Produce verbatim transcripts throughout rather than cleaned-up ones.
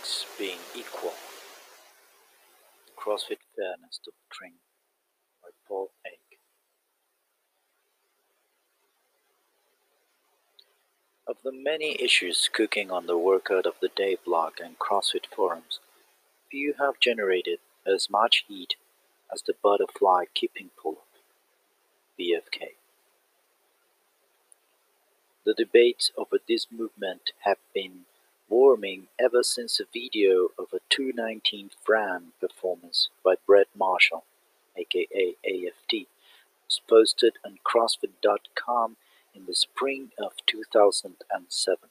things being equal, the CrossFit Fairness Doctrine by Paul Egg. Of the many issues cooking on the Workout of the Day blog and CrossFit forums, few have generated as much heat as the butterfly keeping pull-up, B F K. The debates over this movement have been warming ever since a video of a two nineteen Fran performance by Brett Marshall, aka A F T, was posted on CrossFit dot com in the spring of two thousand seven.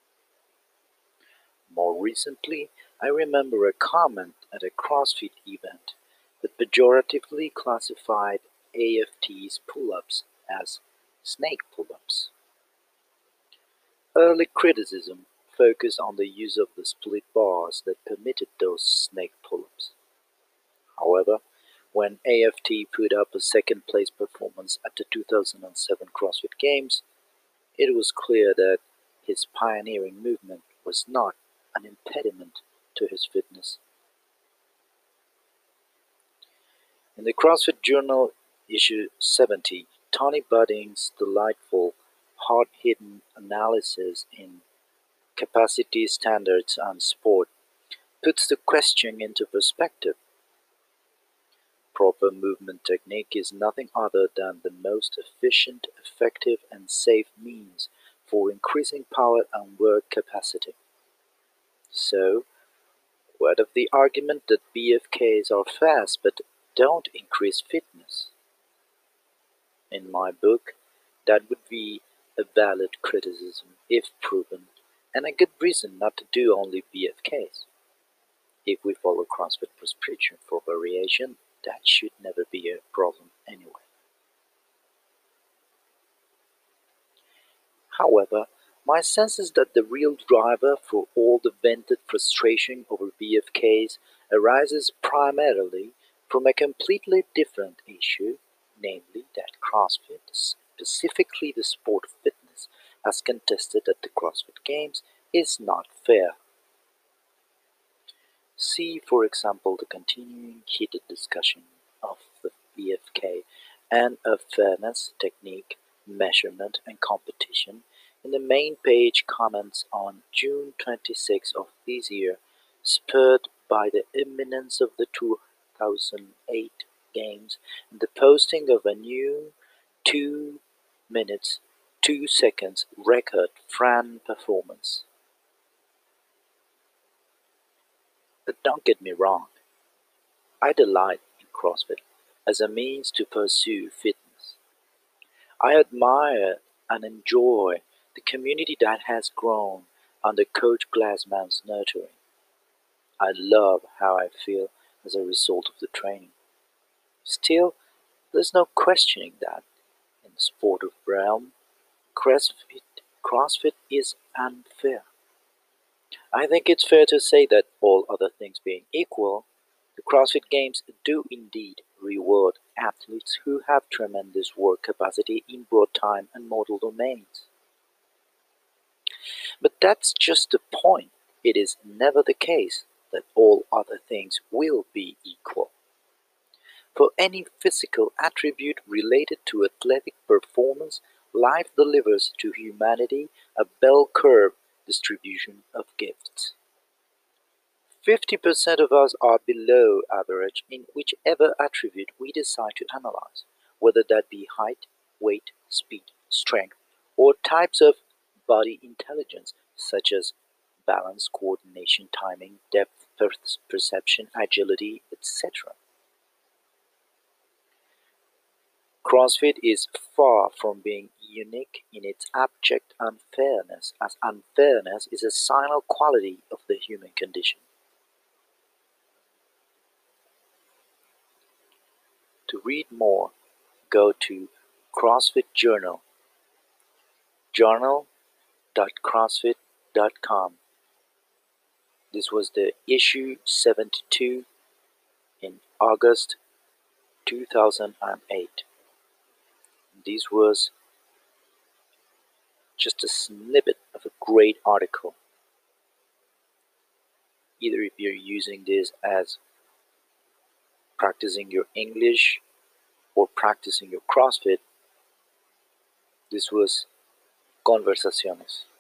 More recently, I remember a comment at a CrossFit event that pejoratively classified A F T's pull-ups as snake pull-ups. Early criticism focused on the use of the split bars that permitted those snake pull-ups. However, when A F T put up a second-place performance at the two thousand seven CrossFit Games, it was clear that his pioneering movement was not an impediment to his fitness. In the CrossFit Journal issue seventy, Tony Budding's delightful, hard-hitting analysis in Capacity Standards and Sport puts the question into perspective. Proper movement technique is nothing other than the most efficient, effective, and safe means for increasing power and work capacity. So, what of the argument that B F Ks are fast but don't increase fitness? In my book, that would be a valid criticism if proven, and a good reason not to do only B F Ks. If we follow CrossFit prescription for variation, that should never be a problem anyway. However, my sense is that the real driver for all the vented frustration over B F Ks arises primarily from a completely different issue, namely that CrossFit, specifically the sport of fitness, as contested at the CrossFit Games, is not fair. See, for example, the continuing heated discussion of the B F K and of fairness, technique, measurement, and competition in the main page comments on June twenty-sixth of this year, spurred by the imminence of the two thousand eight Games and the posting of a new two minutes, two seconds record Fran performance. But don't get me wrong, I delight in CrossFit as a means to pursue fitness. I admire and enjoy the community that has grown under Coach Glassman's nurturing. I love how I feel as a result of the training. Still, there's no questioning that, in the sport of realm, CrossFit, CrossFit is unfair. I think it's fair to say that, all other things being equal, the CrossFit Games do indeed reward athletes who have tremendous work capacity in broad time and modal domains. But that's just the point. It is never the case that all other things will be equal. For any physical attribute related to athletic performance, life delivers to humanity a bell curve distribution of gifts. fifty percent of us are below average in whichever attribute we decide to analyze, whether that be height, weight, speed, strength, or types of body intelligence such as balance, coordination, timing, depth perception, agility, et cetera. CrossFit is far from being unique in its abject unfairness, as unfairness is a signal quality of the human condition. To read more, go to CrossFit Journal, journal dot crossfit dot com. This was the issue seventy-two in August two thousand eight. This was just a snippet of a great article. either if you're using this as practicing your English or practicing your CrossFit, this was Conversaciones.